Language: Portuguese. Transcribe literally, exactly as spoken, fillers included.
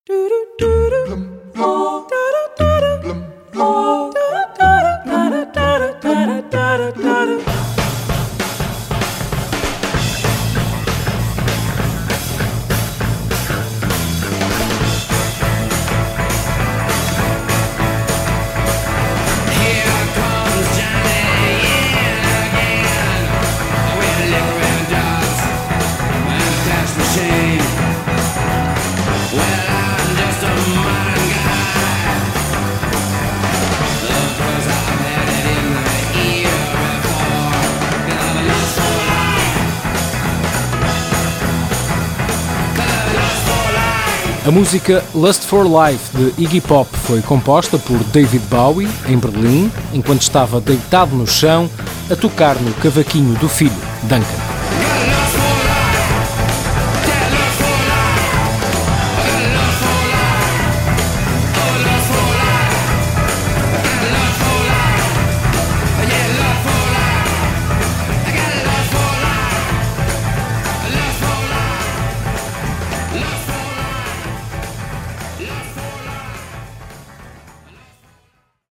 A música Lust for Life de Iggy Pop foi composta por David Bowie em Berlim, enquanto estava deitado no chão a tocar no cavaquinho do filho, Duncan.